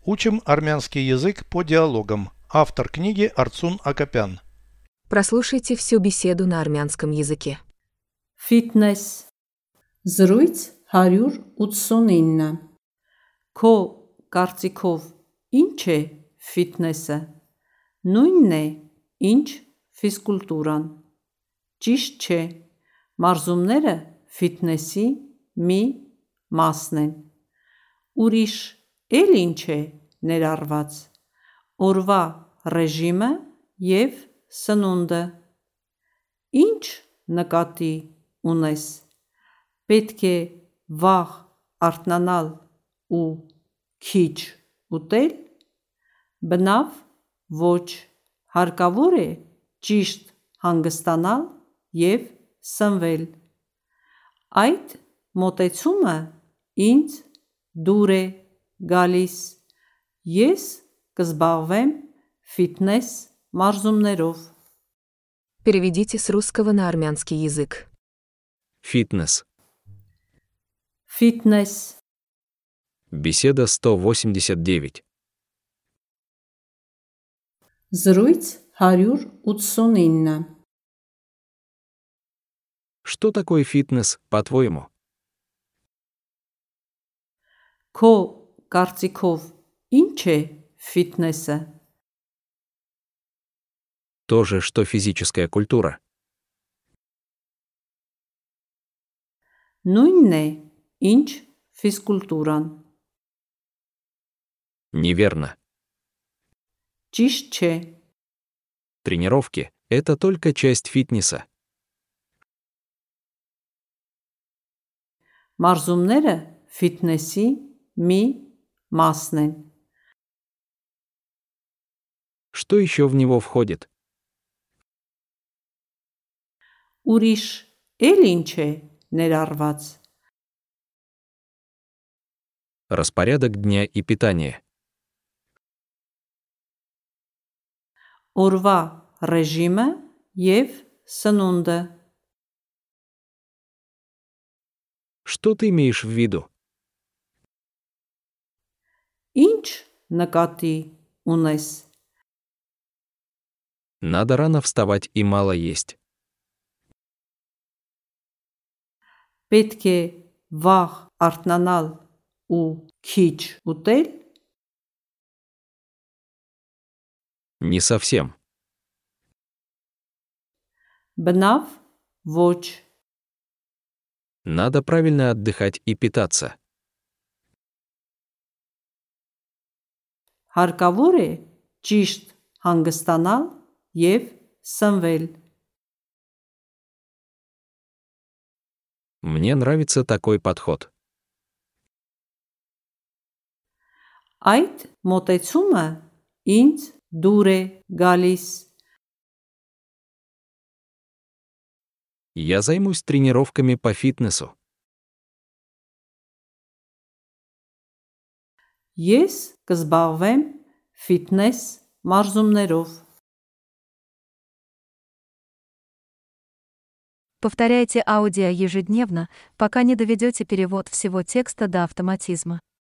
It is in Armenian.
Учим армянский язык по диалогам. Автор книги Арцун Акопян. Прослушайте всю беседу на армянском языке. Ֆիթնես Զրույց 189 Քո կարծիքով ինչ է ֆիթնեսը։ Նույնն է, ինչ ֆիզկուլտուրան։ Ճիշտ չէ, մարզումները ֆիթնեսի մի մասն են։ Ուրիշ էլ ինչ է ներառված։ Օրվա ռեժիմը և սնունդը։ Ինչ նկատի ունես։ Պետք է վաղ արթնանալ ու քիչ ուտել։ Բնավ ոչ, հարկավոր է ճիշտ հանգստանալ և սնվել։ Այդ մոտեցումը ինձ դուր է գալիս։ Ես կզբաղվեմ ֆիթնես մարզումներով։ Переведите с русского на армянский язык. Фитнес. Ֆիթնես Беседа 189. Զրույց 189 Что такое фитнес, по-твоему? Քո կարծիքով ինչ է ֆիթնեսը։ То же, что физическая культура. Նույնն է, ինչ ֆիզկուլտուրան։ Неверно. Ճիշտ չէ, Тренировки – это только часть фитнеса. մարզումները ֆիթնեսի մի մասն են։ Что еще в него входит? Ուրիշ էլ ինչ է ներառված։ Распорядок дня и питание. Օրվա ռեժիմը և սնունդը։ Что ты имеешь в виду? Ինչ նկատի ունես։ Надо рано вставать и мало есть. Պետք է վաղ արթնանալ ու քիչ ուտել։ Не совсем. Բնավ ոչ, Надо правильно отдыхать и питаться. հարկավոր է ճիշտ հանգստանալ և սնվել։ Мне нравится такой подход. Այդ մոտեցումը ինձ դուր է գալիս։ Я займусь тренировками по фитнесу. Ես կզբաղվեմ ֆիթնես մարզումներով։ Повторяйте аудио ежедневно, пока не доведете перевод всего текста до автоматизма.